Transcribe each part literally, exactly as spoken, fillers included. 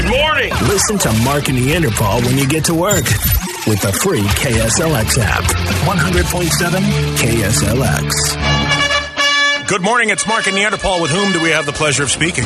Good morning. Listen to Mark and Neanderthal when you get to work with the free K S L X app. one hundred point seven K S L X. Good morning. It's Mark and Neanderthal. With whom do we have the pleasure of speaking?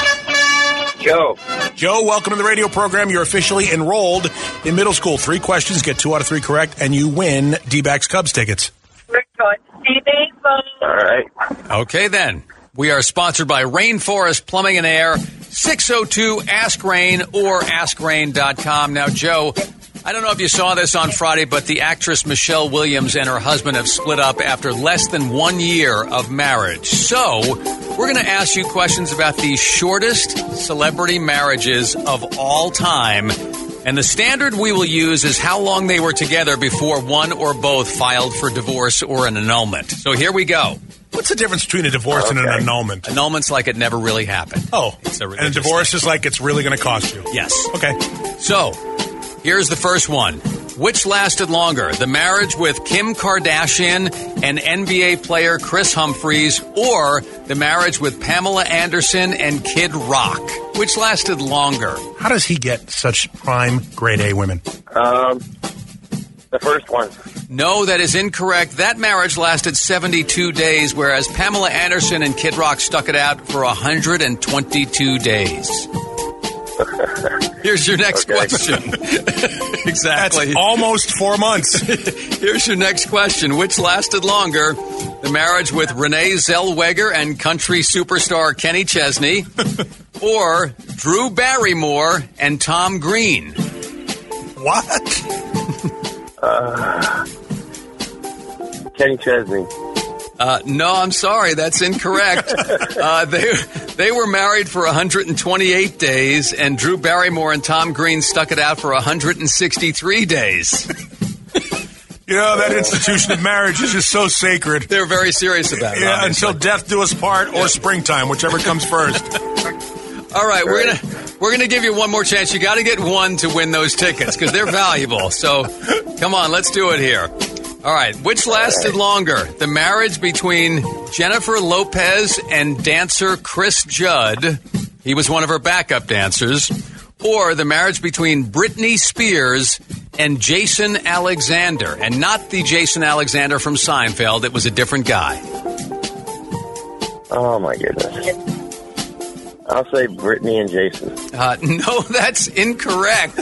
Joe. Joe, welcome to the radio program. You're officially enrolled in middle school. Three questions, get two out of three correct, and you win D-backs Cubs tickets. We're going to see baseball. All right. Okay, then. We are sponsored by Rainforest Plumbing and Air, six oh two Ask Rain or ask rain dot com. Now, Joe, I don't know if you saw this on Friday, but the actress Michelle Williams and her husband have split up after less than one year of marriage. So, we're going to ask you questions about the shortest celebrity marriages of all time. And the standard we will use is how long they were together before one or both filed for divorce or an annulment. So here we go. What's the difference between a divorce okay. and an annulment? Annulment's like it never really happened. Oh, it's a and a divorce thing. Is like it's really going to cost you. Yes. Okay. So, here's the first one. Which lasted longer, the marriage with Kim Kardashian and N B A player Chris Humphries, or the marriage with Pamela Anderson and Kid Rock? Which lasted longer? How does he get such prime grade A women? Um, the first one. No, that is incorrect. That marriage lasted seventy-two days, whereas Pamela Anderson and Kid Rock stuck it out for one hundred twenty-two days. Here's your next okay. question. Exactly. That's almost four months. Here's your next question. Which lasted longer, the marriage with Renee Zellweger and country superstar Kenny Chesney, or Drew Barrymore and Tom Green? What? uh, Kenny Chesney. Uh, no, I'm sorry. That's incorrect. uh, they they were married for one hundred twenty-eight days, and Drew Barrymore and Tom Green stuck it out for one hundred sixty-three days. You know, that institution of marriage is just so sacred. They're very serious about it. Yeah, obviously. Until death do us part or yeah. springtime, whichever comes first. All right, we're gonna we're gonna give you one more chance. You got to get one to win those tickets because they're valuable. So, come on, let's do it here. All right, which lasted longer, the marriage between Jennifer Lopez and dancer Chris Judd, he was one of her backup dancers, or the marriage between Britney Spears and Jason Alexander, and not the Jason Alexander from Seinfeld, it was a different guy. Oh, my goodness. I'll say Britney and Jason. Uh, no, that's incorrect.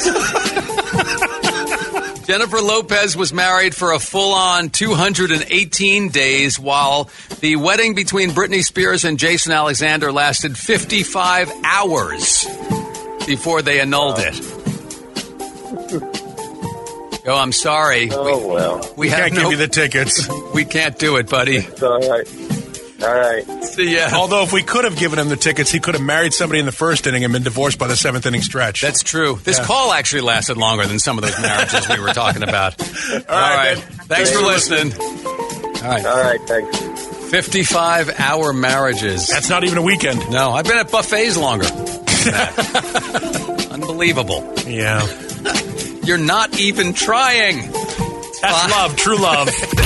Jennifer Lopez was married for a full-on two hundred eighteen days, while the wedding between Britney Spears and Jason Alexander lasted fifty-five hours before they annulled it. Oh, I'm sorry. Oh, we, well. We, we have can't no, give you the tickets. We can't do it, buddy. It's all right. All right. See ya. Although if we could have given him the tickets, he could have married somebody in the first inning and been divorced by the seventh inning stretch. That's true. This yeah. call actually lasted longer than some of those marriages we were talking about. All, All right. right. Thanks, thanks for listening. All right. All right. Thanks. fifty-five hour marriages. That's not even a weekend. No, I've been at buffets longer than that. Unbelievable. Yeah. You're not even trying. That's Five. love. True love.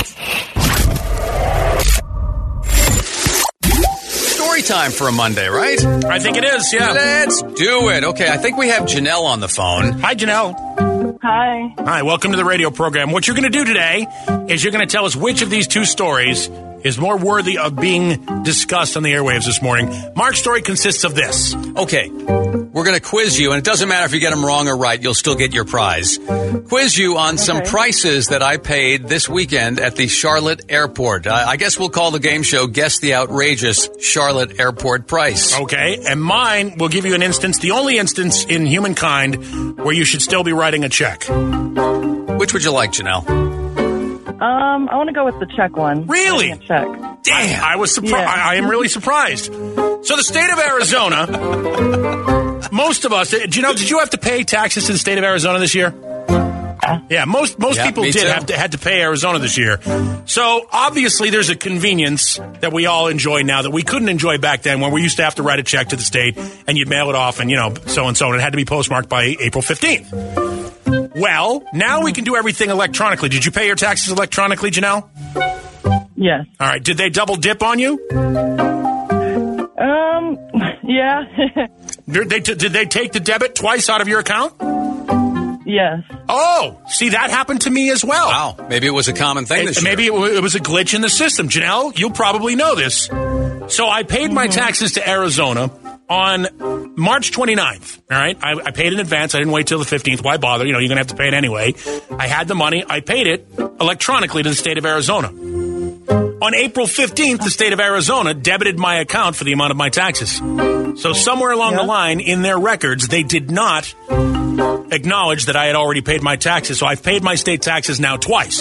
Story time for a Monday, right? I think it is, yeah. Let's do it. Okay, I think we have Janelle on the phone. Hi, Janelle. Hi. Hi, welcome to the radio program. What you're going to do today is you're going to tell us which of these two stories is more worthy of being discussed on the airwaves this morning. Mark's story consists of this. Okay, we're going to quiz you, and it doesn't matter if you get them wrong or right, you'll still get your prize. Quiz you on okay. some prices that I paid this weekend at the Charlotte Airport. I, I guess we'll call the game show Guess the Outrageous Charlotte Airport Price. Okay, and mine will give you an instance, the only instance in humankind where you should still be writing a check. Which would you like, Janelle? Um, I want to go with the check one. Really? A check. Damn. I, I was surprised. Yeah. I, I am really surprised. So the state of Arizona, most of us, do you know, did you have to pay taxes to the state of Arizona this year? Yeah, most most yeah, people did have to, had to pay Arizona this year. So obviously there's a convenience that we all enjoy now that we couldn't enjoy back then when we used to have to write a check to the state and you'd mail it off and, you know, so-and-so, and it had to be postmarked by April fifteenth. Well, now we can do everything electronically. Did you pay your taxes electronically, Janelle? Yes. All right. Did they double dip on you? Um, yeah. Did they, did they take the debit twice out of your account? Yes. Oh, see, that happened to me as well. Wow. Maybe it was a common thing this It- year. Maybe it, w- it was a glitch in the system. Janelle, you'll probably know this. So I paid my taxes to Arizona on March twenty-ninth. All right. I, I paid in advance. I didn't wait till the fifteenth. Why bother? You know, you're going to have to pay it anyway. I had the money. I paid it electronically to the state of Arizona. On April fifteenth, the state of Arizona debited my account for the amount of my taxes. So somewhere along Yeah. the line in their records, they did not acknowledge that I had already paid my taxes. So I've paid my state taxes now twice.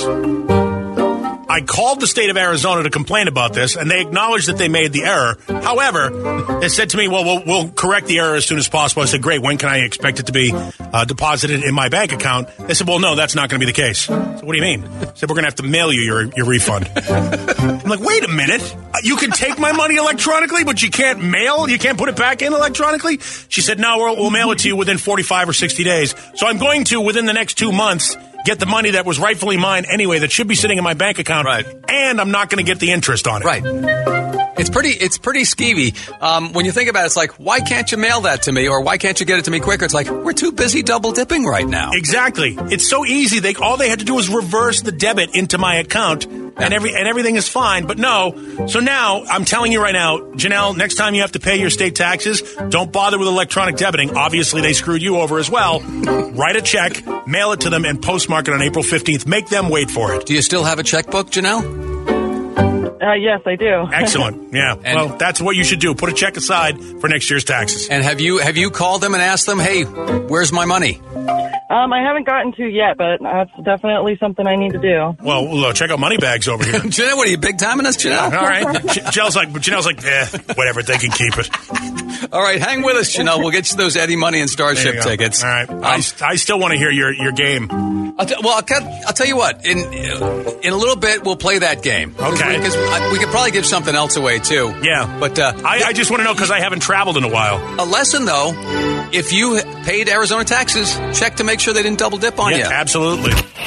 I called the state of Arizona to complain about this, and they acknowledged that they made the error. However, they said to me, well, we'll, we'll correct the error as soon as possible. I said, great, when can I expect it to be uh, deposited in my bank account? They said, well, no, that's not going to be the case. So what do you mean? I said, we're going to have to mail you your, your refund. I'm like, wait a minute. You can take my money electronically, but you can't mail? You can't put it back in electronically? She said, no, we'll, we'll mail it to you within forty-five or sixty days. So I'm going to, within the next two months, get the money that was rightfully mine anyway, that should be sitting in my bank account, Right. and I'm not going to get the interest on it. Right. It's pretty. It's pretty skeevy. Um, when you think about it, it's like, why can't you mail that to me, or why can't you get it to me quicker? It's like, we're too busy double dipping right now. Exactly. It's so easy. They all they had to do was reverse the debit into my account, and every and everything is fine. But no. So now I'm telling you right now, Janelle, next time you have to pay your state taxes, don't bother with electronic debiting. Obviously, they screwed you over as well. Write a check, mail it to them, and postmark it on April fifteenth. Make them wait for it. Do you still have a checkbook, Janelle? Uh, yes, I do. Excellent. Yeah. And- well, that's what you should do. Put a check aside for next year's taxes. And have you have you called them and asked them, hey, where's my money? Um, I haven't gotten to yet, but that's definitely something I need to do. Well, look, check out Moneybags over here. Janelle, what are you, big timing us, Janelle? All right. J- Janelle's like, Janelle's like, eh, whatever. They can keep it. All right, hang with us, Janelle. We'll get you those Eddie Money and There you Starship go. tickets. All right. Um, I, I still want to hear your, your game. I'll t- well, I'll, cut, I'll tell you what. In in a little bit, we'll play that game. Okay. Because we, we could probably give something else away too. Yeah. But uh, I, I just want to know because I haven't traveled in a while. a lesson though, if you paid Arizona taxes, check to make sure they didn't double dip on Yeah, you. absolutely.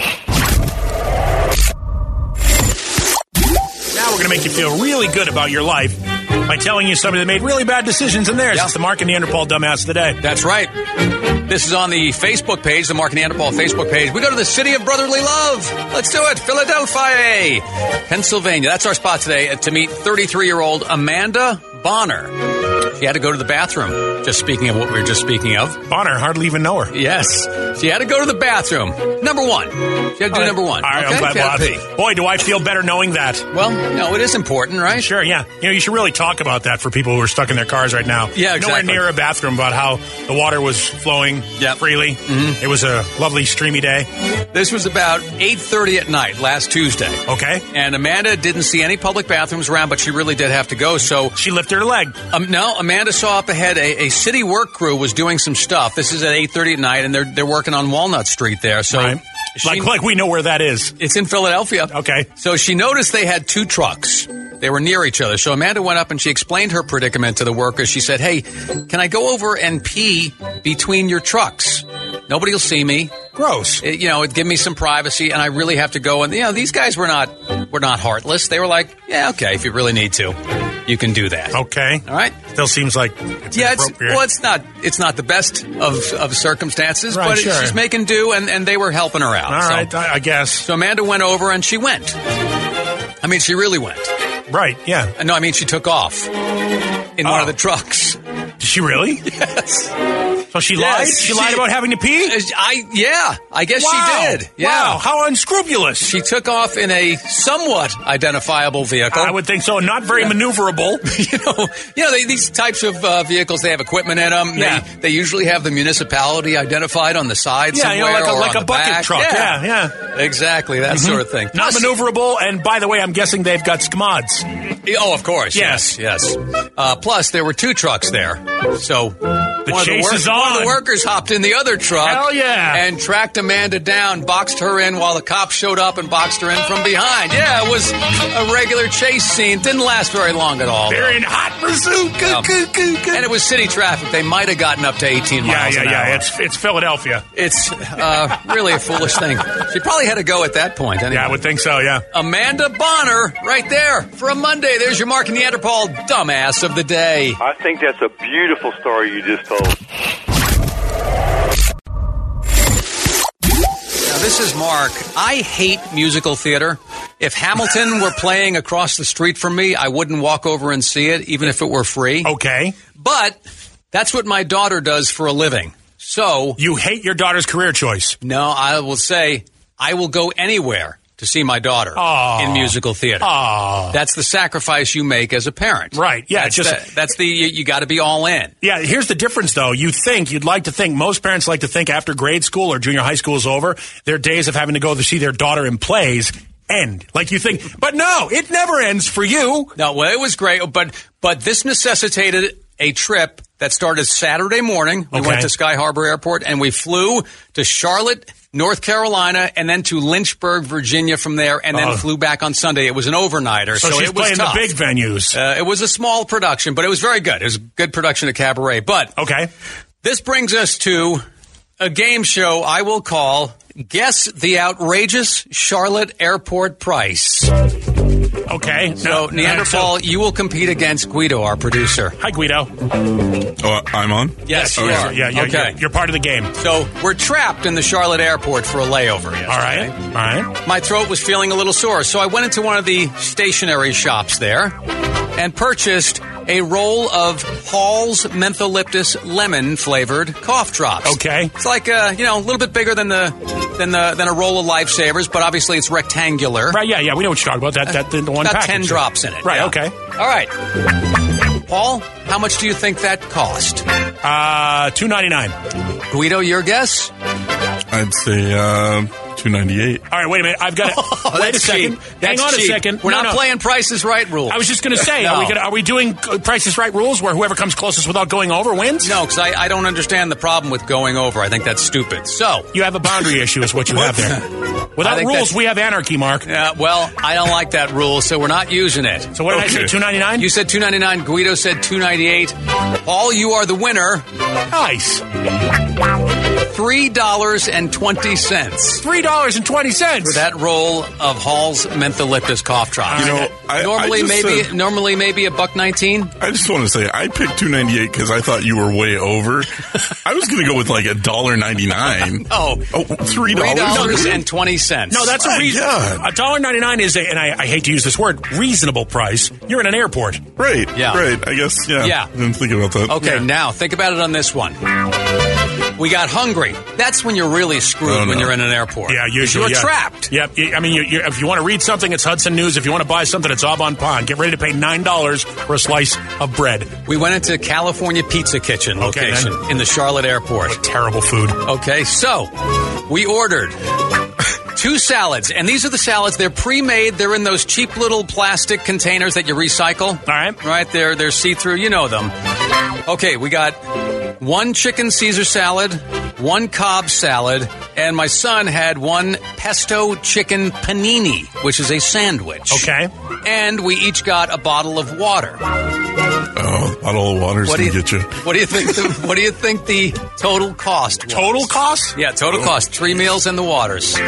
Now we're going to make you feel really good about your life by telling you somebody that made really bad decisions in theirs. Yeah. It's the Mark and Neanderthal Dumbass of the Day. That's right. This is on the Facebook page, the Mark and Neanderthal Facebook page. We go to the city of brotherly love. Let's do it. Philadelphia, Pennsylvania. That's our spot today uh, to meet thirty-three-year-old Amanda Bonner. She had to go to the bathroom. Just speaking of what we were just speaking of. Bonner, hardly even know her. Yes. She had to go to the bathroom. Number one. She had to do number one. All right, okay? I'm glad. She had to Well, pee. boy, do I feel better knowing that. Well, no, it is important, right? Sure, yeah. You know, you should really talk about that for people who are stuck in their cars right now. Yeah, exactly. Nowhere near a bathroom, about how the water was flowing Yep. freely. Mm-hmm. It was a lovely, streamy day. This was about eight thirty at night last Tuesday. Okay. And Amanda didn't see any public bathrooms around, but she really did have to go. So, She lifted her leg. um, no, Amanda saw up ahead a, a city work crew was doing some stuff. This is at eight thirty at night, and they're they're working on Walnut Street there. So, Right. she- Like, like we know where that is. it's in Philadelphia. Okay. So she noticed they had two trucks. They were near each other. So Amanda went up and she explained her predicament to the workers. She said, hey, can I go over and pee between your trucks? Nobody will see me. Gross. It, you know, it'd give me some privacy, and I really have to go. And you know, these guys were not were not heartless. They were like, yeah, okay, if you really need to, you can do that. Okay. All right. Still seems like it's Yeah, it's inappropriate. well, it's not it's not the best of, of circumstances, Right, but sure. she's making do, and, and they were helping her out. All so, right, I, I guess. so Amanda went over and she went. I mean, she really went. Right, yeah. No, I mean she took off in Oh. one of the trucks. Did she really? Yes. So she Yes, lied? She, she- lied about having to pee? I yeah, I guess Wow. she did. Yeah. Wow, how unscrupulous. She took off in a somewhat identifiable vehicle. I would think so. Not very maneuverable. you know, you know they, these types of uh, vehicles, they have equipment in them. Yeah. They, they usually have the municipality identified on the side Yeah, you somewhere. know, like a, or like on a the bucket back. truck. Yeah, yeah. Exactly, that sort of thing. Not Plus- maneuverable, and by the way, I'm guessing they've got squads. Oh, of course. Yes. Yes. yes. Uh, plus, there were two trucks there. So The one, chase of the is one of on. the workers hopped in the other truck. Hell yeah. And tracked Amanda down, boxed her in while the cops showed up and boxed her in from behind. Yeah, it was a regular chase scene. Didn't last very long at all. They're in hot pursuit. Coo, Yeah. coo, coo, coo. And it was city traffic. They might have gotten up to eighteen Yeah, miles yeah, an yeah. hour. It's it's Philadelphia. It's uh, really a foolish thing. She probably had to go at that point. Anyway. Yeah, I would think so, yeah. Amanda Bonner, right there for a Monday. There's your Mark and Neanderthal dumbass of the day. I think that's a beautiful story you just told. cold. Now, this is Mark. I hate musical theater. If Hamilton were playing across the street from me, I wouldn't walk over and see it, even if it were free. Okay. But that's what my daughter does for a living. So you hate your daughter's career choice. No, I will say I will go anywhere to see my daughter Aww. in musical theater. Aww. That's the sacrifice you make as a parent. Right. Yeah. That's just the, that's the you, you got to be all in. Yeah. Here's the difference, though. You think you'd like to think most parents like to think after grade school or junior high school is over, their days of having to go to see their daughter in plays end. Like you think, but no, it never ends for you. No. Well, it was great, but but this necessitated a trip that started Saturday morning. We Okay. went to Sky Harbor Airport and we flew to Charlotte, North Carolina, and then to Lynchburg, Virginia from there, and then Oh. flew back on Sunday. It was an overnighter, So, so, she's it was playing tough. the big venues. Uh, it was a small production, but it was very good. It was a good production of Cabaret. But okay. This brings us to a game show I will call Guess the Outrageous Charlotte Airport Price. Okay. So, Now- Neanderthal, you will compete against Guido, our producer. Hi, Guido. Oh, I'm on? Yes, you Okay. are. Yeah, yeah, okay. You're, you're part of the game. So, we're trapped in the Charlotte airport for a layover yesterday. All right. All right. My throat was feeling a little sore, so I went into one of the stationery shops there and purchased a roll of Hall's Mentholyptus lemon-flavored cough drops. Okay. It's like, uh, you know, a little bit bigger than the than the than a roll of Lifesavers, but obviously it's rectangular. Right, yeah, yeah, we know what you're talking about. That, that the one About package. ten drops in it. Right, yeah. okay. All right. Paul, how much do you think that cost? Uh, two ninety-nine. Guido, your guess? I'd say uh, two ninety-eight. All right, wait a minute. I've got to Oh, wait a that's second. cheap. Hang That's on cheap. a second. We're No, not no. playing Price is Right rules. I was just going to say, No. are we gonna, are we doing uh, Price is Right rules where whoever comes closest without going over wins? No, because I, I don't understand the problem with going over. I think that's stupid. So, You have a boundary issue is what you have there. I Without think rules, that's- we have anarchy, Mark. uh, well, I don't like that rule, so we're not using it. So what did I say, Okay. two ninety-nine? You said two ninety-nine. Guido said two ninety-eight. Paul, you are the winner. Nice. three dollars and twenty cents three dollars and twenty cents. for that roll of Hall's Mentholyptus cough drops. You know, I, normally I just maybe said- normally maybe a buck nineteen. I just want to say I picked two ninety-eight because I thought you were way over. I was going to go with like a dollar ninety-nine. Oh, Oh, three three dollars dollars and twenty cents. No, that's a My reason. God. A dollar ninety-nine is a, and I, I hate to use this word, reasonable price. You're in an airport. Right. Yeah. Right. I guess. Yeah. Yeah. I didn't think about that. Okay, Yeah. now think about it on this one. We got hungry. That's when you're really screwed Oh, no. when you're in an airport. Yeah, usually. You're yeah. trapped. Yep. You- I mean, you, you, if you want to read something, it's Hudson News. If you want to buy something, it's Aubon Pond. Get ready to pay nine dollars for a slice of bread. We went into California Pizza Kitchen Okay, location then. in the Charlotte airport. Terrible food. Okay, so we ordered two salads, and these are the salads. They're pre-made. They're in those cheap little plastic containers that you recycle. All right. Right, they're, they're see-through. You know them. Okay, we got one chicken Caesar salad, one Cobb salad, and my son had one pesto chicken panini, which is a sandwich. Okay. And we each got a bottle of water. Oh, a bottle of water's What do going you, to get you. what do you think? The, what do you think the total cost was? Total cost? Yeah, total cost. Three meals and the waters.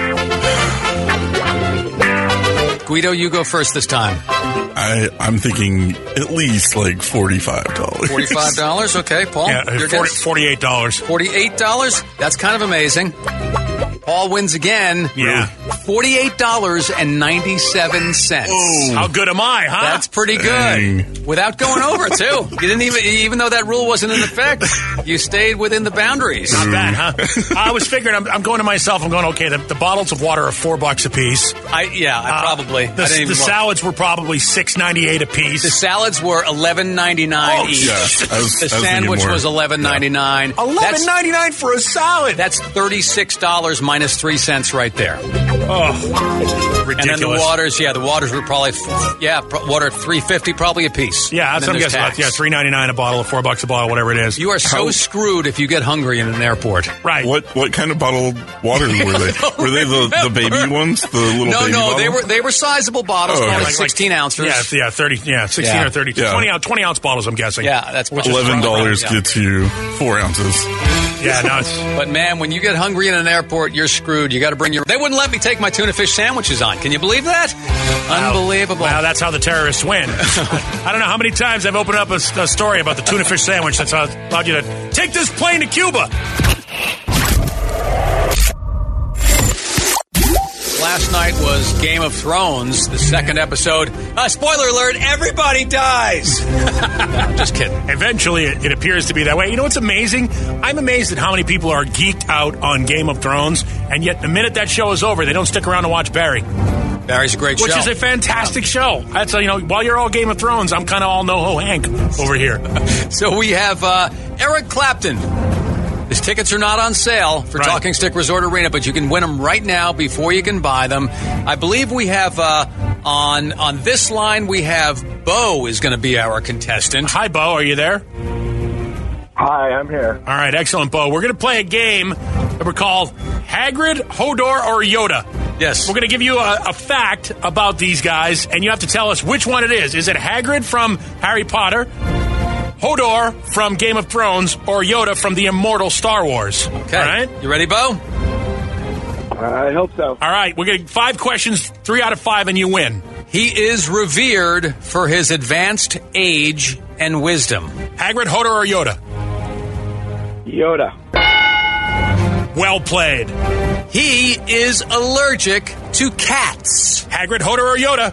Guido, you go first this time. I, I'm thinking at least like forty-five dollars. Forty-five dollars. Okay, Paul. Yeah, your forty, guess? forty-eight dollars. Forty-eight dollars. That's kind of amazing. Paul wins again. Yeah. Forty-eight dollars and ninety-seven cents. How good am I, huh? That's pretty good. Dang. Without going over too. You didn't even, even though that rule wasn't in effect, you stayed within the boundaries. Not bad, huh? I was figuring, I'm, I'm going to myself, I'm going, okay, the, the bottles of water are four bucks a piece. I yeah, I probably. The, I didn't even the look. salads were probably six ninety-eight a piece. The salads were eleven ninety nine Oh, each. yeah. I was- the I was thinking sandwich more. was eleven ninety nine. Eleven ninety nine for a salad. That's thirty six dollars minus three cents right there. oh, ridiculous. And then the waters, yeah, the waters were probably yeah, pro- water three fifty probably a piece. Yeah, And that's then what I'm there's guessing. tax. Yeah, three ninety nine a bottle, four bucks a bottle, whatever it is. You are so How- screwed if you get hungry in an airport. right. What what kind of bottled water were they? Were they the, the baby ones? The little No, baby no, bottle? they were they were sizable bottles, Oh, probably okay. Like- like- sixteen ounces. Yeah, yeah, thirty, yeah, sixteen Yeah. or thirty, Yeah. twenty ounce, twenty ounce bottles. I'm guessing. Yeah, that's Which is Eleven dollars Yeah. gets you four ounces. Yeah, no, it's... But, man, when you get hungry in an airport, you're screwed. You got to bring your... They wouldn't let me take my tuna fish sandwiches on. Can you believe that? Wow. Unbelievable. Wow, that's how the terrorists win. I don't know how many times I've opened up a, a story about the tuna fish sandwich that's allowed you to take this plane to Cuba. Last night was Game of Thrones, the second episode. Uh, spoiler alert, everybody dies. No, just kidding. Eventually, it, it appears to be that way. You know what's amazing? I'm amazed at how many people are geeked out on Game of Thrones, and yet the minute that show is over, they don't stick around to watch Barry. Barry's a great Which show. Which is a fantastic yeah. show. That's, you know, while you're all Game of Thrones, I'm kind of all NoHo Hank over here. So we have uh, Eric Clapton. His tickets are not on sale for right. Talking Stick Resort Arena, but you can win them right now before you can buy them. I believe we have uh, on on this line, we have Bo is going to be our contestant. Hi, Bo. Are you there? Hi, I'm here. All right, excellent, Bo. We're going to play a game that we're called Hagrid, Hodor, or Yoda. Yes. We're going to give you a, a fact about these guys, and you have to tell us which one it is. Is it Hagrid from Harry Potter, Hodor from Game of Thrones, or Yoda from the immortal Star Wars? Okay. All right? You ready, Bo? I hope so. All right. We're getting five questions, three out of five, and you win. He is revered for his advanced age and wisdom. Hagrid, Hodor, or Yoda? Yoda. Well played. He is allergic to cats. Hagrid, Hodor, or Yoda?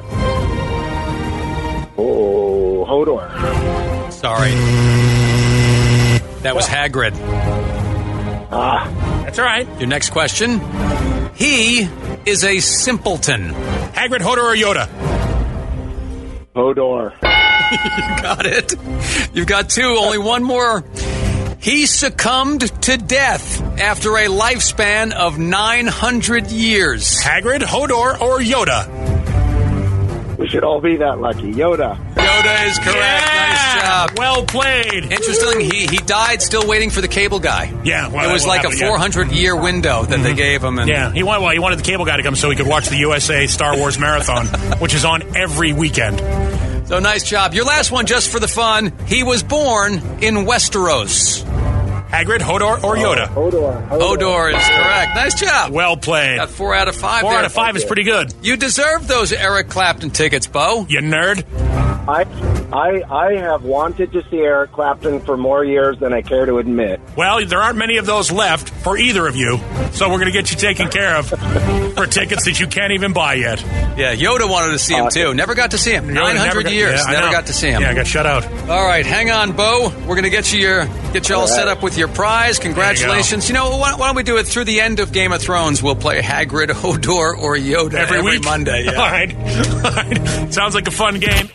Oh, Hodor. Sorry. That was Hagrid. Ah. That's all right. Your next question. He is a simpleton. Hagrid, Hodor, or Yoda? Hodor. You got it. You've got two. Only one more. He succumbed to death after a lifespan of nine hundred years. Hagrid, Hodor, or Yoda? We should all be that lucky. Yoda. Yoda is correct. Yeah! Nice job. Well played. Interesting. He he died still waiting for the cable guy. Yeah. Well, it was like happened, a four hundred yeah. year window that mm-hmm. they gave him. And yeah. He wanted, well, he wanted the cable guy to come so he could watch the U S A Star Wars Marathon, which is on every weekend. So nice job. Your last one, just for the fun. He was born in Westeros. Hagrid, Hodor, or Yoda? Oh, Hodor. Hodor. Hodor is correct. Nice job. Well played. Got four out of five. Four there. out of five is pretty good. You deserve those Eric Clapton tickets, Bo. You nerd. I, I, I have wanted to see Eric Clapton for more years than I care to admit. Well, there aren't many of those left for either of you, so we're going to get you taken care of for tickets that you can't even buy yet. Yeah, Yoda wanted to see him, too. Never got to see him. nine hundred got, years. Yeah, never got to see him. Yeah, I got shut out. All right, hang on, Bo. We're going to get you your get you all, all right. set up with your prize. Congratulations. You, you know, why, why don't we do it through the end of Game of Thrones? We'll play Hagrid, Hodor, or Yoda every, every week? Monday. Yeah. All right. All right. Sounds like a fun game.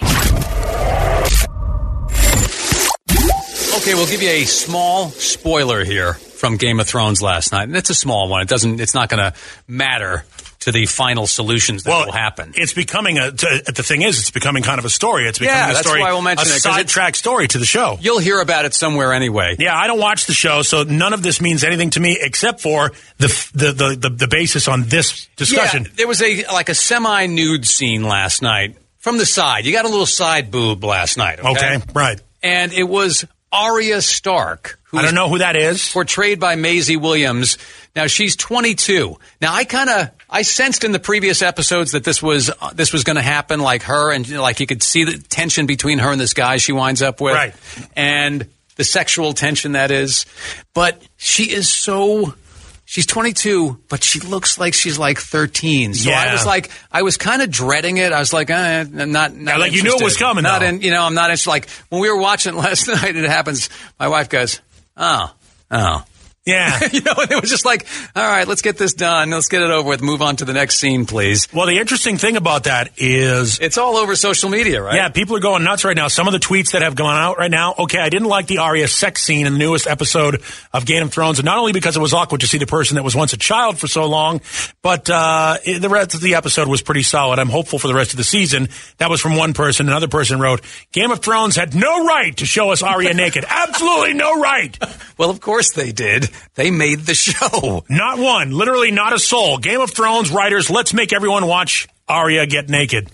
Okay, we'll give you a small spoiler here from Game of Thrones last night, and it's a small one. It doesn't. It's not going to matter to the final solutions that well, will happen. It's becoming a. To, the thing is, it's becoming kind of a story. It's becoming yeah, a that's story. Why we'll mention a it, sidetrack story to the show. You'll hear about it somewhere anyway. Yeah, I don't watch the show, so none of this means anything to me except for the the the, the, the basis on this discussion. Yeah, there was a like a semi-nude scene last night from the side. You got a little side boob last night. Okay, okay right. And it was Arya Stark. Who I don't know who that is. Portrayed by Maisie Williams. Now she's twenty-two. Now I kind of I sensed in the previous episodes that this was uh, this was going to happen, like her and you know, like you could see the tension between her and this guy she winds up with, right? And the sexual tension that is. But she is so. She's twenty-two, but she looks like she's like thirteen. So yeah. I was like, I was kind of dreading it. I was like, eh, not, not yeah, like interested. you knew it was coming. Not though. in, you know, I'm not interested. Like when we were watching it last night, it happens. My wife goes, oh, oh. Yeah. You know, and it was just like, all right, let's get this done. Let's get it over with. Move on to the next scene, please. Well, the interesting thing about that is... It's all over social media, right? Yeah, people are going nuts right now. Some of the tweets that have gone out right now, okay, I didn't like the Arya sex scene in the newest episode of Game of Thrones, and not only because it was awkward to see the person that was once a child for so long, but uh, the rest of the episode was pretty solid. I'm hopeful for the rest of the season. That was from one person. Another person wrote, Game of Thrones had no right to show us Arya naked. Absolutely no right. Well, of course they did. They made the show. Not one. Literally not a soul. Game of Thrones writers, let's make everyone watch Arya get naked.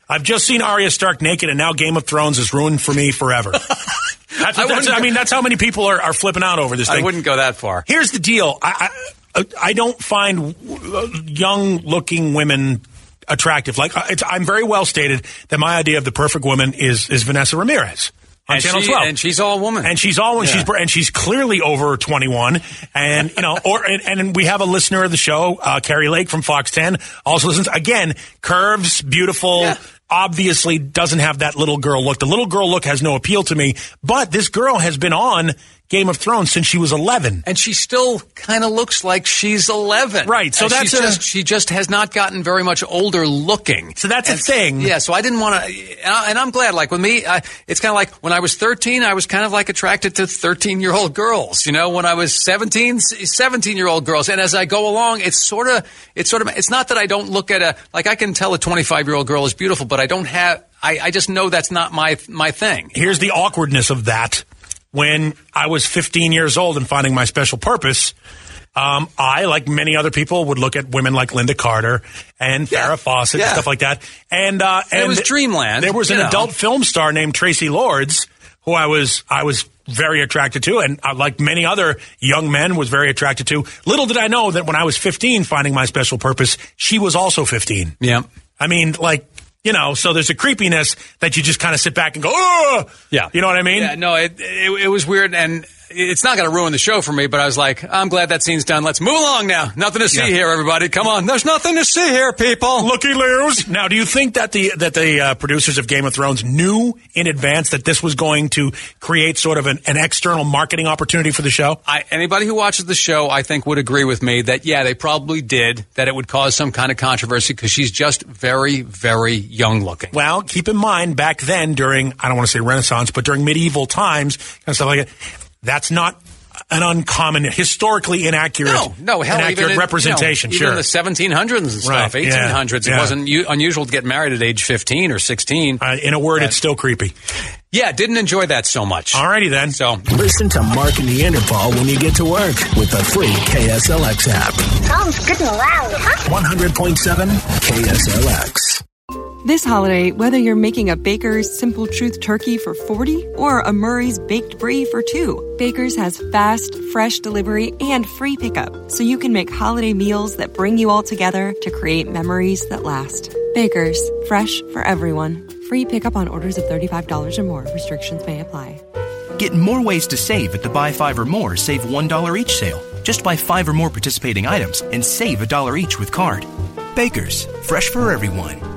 I've just seen Arya Stark naked, and now Game of Thrones is ruined for me forever. That's, I, that's, I mean, that's how many people are, are flipping out over this thing. I wouldn't go that far. Here's the deal. I, I, I don't find young-looking women attractive. Like, it's, I'm very well stated that my idea of the perfect woman is, is Vanessa Ramirez. On and, Channel she, twelve. and she's all woman. And she's all woman. Yeah. She's and she's clearly over twenty-one. And you know, or and, and we have a listener of the show, uh, Carrie Lake from Fox ten, also listens. Again, curves, beautiful. Yeah. Obviously, doesn't have that little girl look. The little girl look has no appeal to me. But this girl has been on Game of Thrones since she was eleven, and she still kind of looks like she's eleven. Right. So and that's she's a, just she just has not gotten very much older looking. So that's and, a thing. Yeah. So I didn't want to, and I'm glad. Like with me, I, it's kind of like when I was thirteen, I was kind of like attracted to thirteen-year-old girls. You know, when I was seventeen, seventeen-year-old girls, and as I go along, it's sort of, it's sort of, it's not that I don't look at a like I can tell a twenty-five-year-old girl is beautiful, but I don't have. I, I just know that's not my my thing. Here's the awkwardness of that. When I was fifteen years old and finding my special purpose, um, I, like many other people, would look at women like Linda Carter and Farrah yeah. Fawcett yeah. and stuff like that. And, uh, and it was dreamland. There was an know. adult film star named Tracy Lords who I was I was very attracted to, and uh, like many other young men, was very attracted to. Little did I know that when I was fifteen, finding my special purpose, she was also fifteen. Yeah. I mean, like. You know, so there's a creepiness that you just kind of sit back and go, oh! Yeah. You know what I mean? Yeah, no, it, it, it was weird, and it's not going to ruin the show for me, but I was like, I'm glad that scene's done. Let's move along now. Nothing to see yeah. here, everybody. Come on. There's nothing to see here, people. Looky loos. Now, do you think that the that the uh, producers of Game of Thrones knew in advance that this was going to create sort of an, an external marketing opportunity for the show? I, anybody who watches the show, I think, would agree with me that, yeah, they probably did, that it would cause some kind of controversy because she's just very, very young looking. Well, keep in mind, back then during, I don't want to say Renaissance, but during medieval times and stuff like that, that's not an uncommon, historically inaccurate, no, no, hell, inaccurate even in, representation. You know, sure. even the seventeen hundreds and stuff, right. eighteen hundreds, yeah. it yeah. wasn't u- unusual to get married at age fifteen or sixteen. Uh, in a word, but, it's still creepy. Yeah, didn't enjoy that so much. Alrighty then. So listen to Mark and Neanderthal when you get to work with the free K S L X app. Sounds good and loud, huh? one hundred point seven K S L X. This holiday, whether you're making a Baker's Simple Truth turkey for forty or a Murray's Baked Brie for two, Baker's has fast, fresh delivery and free pickup, so you can make holiday meals that bring you all together to create memories that last. Baker's, fresh for everyone. Free pickup on orders of thirty-five dollars or more. Restrictions may apply. Get more ways to save at the Buy Five or More, Save one dollar each sale. Just buy five or more participating items and save a dollar each with card. Baker's, fresh for everyone.